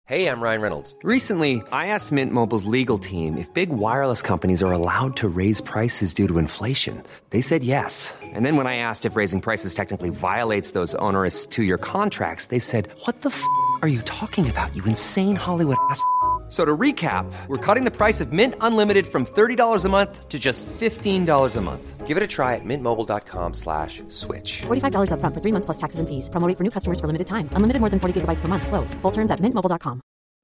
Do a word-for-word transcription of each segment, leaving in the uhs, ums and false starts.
Hey, I'm Ryan Reynolds. Recently, I asked Mint Mobile's legal team if big wireless companies are allowed to raise prices due to inflation. They said yes. And then when I asked if raising prices technically violates those onerous two-year contracts, they said, what the f*** are you talking about, you insane Hollywood ass f- So to recap, we're cutting the price of Mint Unlimited from thirty dollars a month to just fifteen dollars a month. Give it a try at mintmobile.com slash switch. forty-five dollars up front for three months plus taxes and fees. Promo rate for new customers for limited time. Unlimited more than forty gigabytes per month. Slows full terms at mint mobile dot com.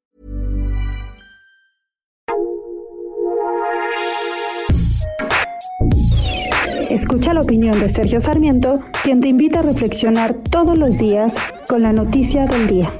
Escucha la opinión de Sergio Sarmiento, quien te invita a reflexionar todos los días con la noticia del día.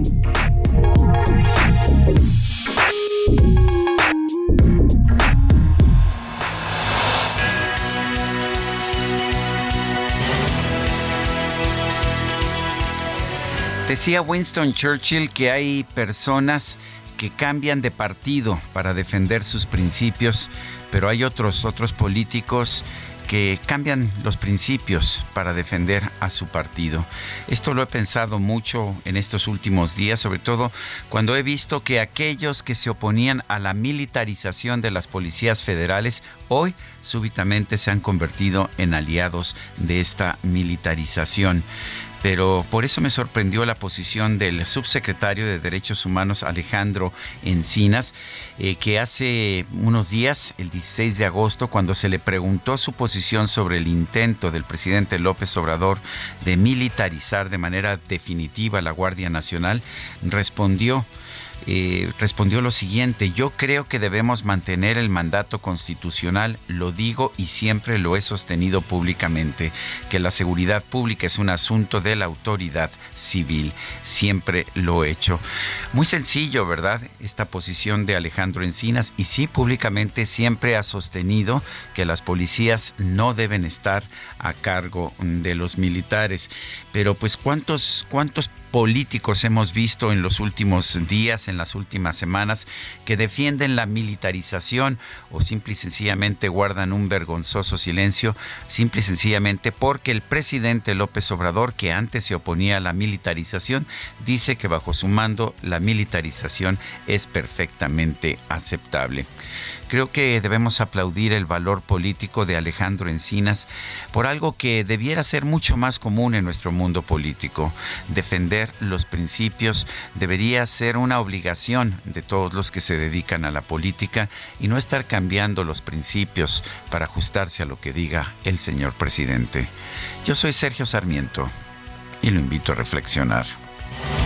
Decía Winston Churchill que hay personas que cambian de partido para defender sus principios, pero hay otros, otros políticos que cambian los principios para defender a su partido. Esto lo he pensado mucho en estos últimos días, sobre todo cuando he visto que aquellos que se oponían a la militarización de las policías federales hoy súbitamente se han convertido en aliados de esta militarización. Pero por eso me sorprendió la posición del subsecretario de Derechos Humanos, Alejandro Encinas, eh, que hace unos días, el dieciséis de agosto, cuando se le preguntó su posición sobre el intento del presidente López Obrador de militarizar de manera definitiva la Guardia Nacional, respondió... Eh, respondió lo siguiente: yo creo que debemos mantener el mandato constitucional, lo digo y siempre lo he sostenido públicamente, que la seguridad pública es un asunto de la autoridad civil, siempre lo he hecho. Muy sencillo, ¿verdad? Esta posición de Alejandro Encinas, y sí, públicamente siempre ha sostenido que las policías no deben estar a cargo de los militares. Pero pues ¿cuántos, cuántos políticos hemos visto en los últimos días, en las últimas semanas, que defienden la militarización o simple y sencillamente guardan un vergonzoso silencio, simple y sencillamente porque el presidente López Obrador, que antes se oponía a la militarización, dice que bajo su mando la militarización es perfectamente aceptable? Creo que debemos aplaudir el valor político de Alejandro Encinas por algo que debiera ser mucho más común en nuestro mundo político. Defender los principios debería ser una obligación de todos los que se dedican a la política y no estar cambiando los principios para ajustarse a lo que diga el señor presidente. Yo soy Sergio Sarmiento y lo invito a reflexionar.